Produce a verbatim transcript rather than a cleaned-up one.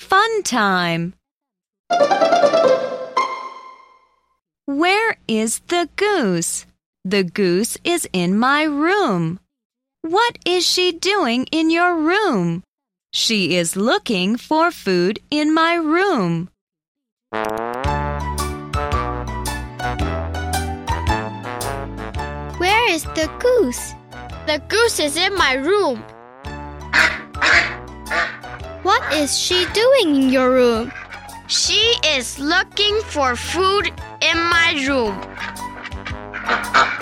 Fun time! Where is the goose? The goose is in my room. What is she doing in your room? She is looking for food in my room. Where is the goose? The goose is in my room. What is she doing in your room? She is looking for food in my room.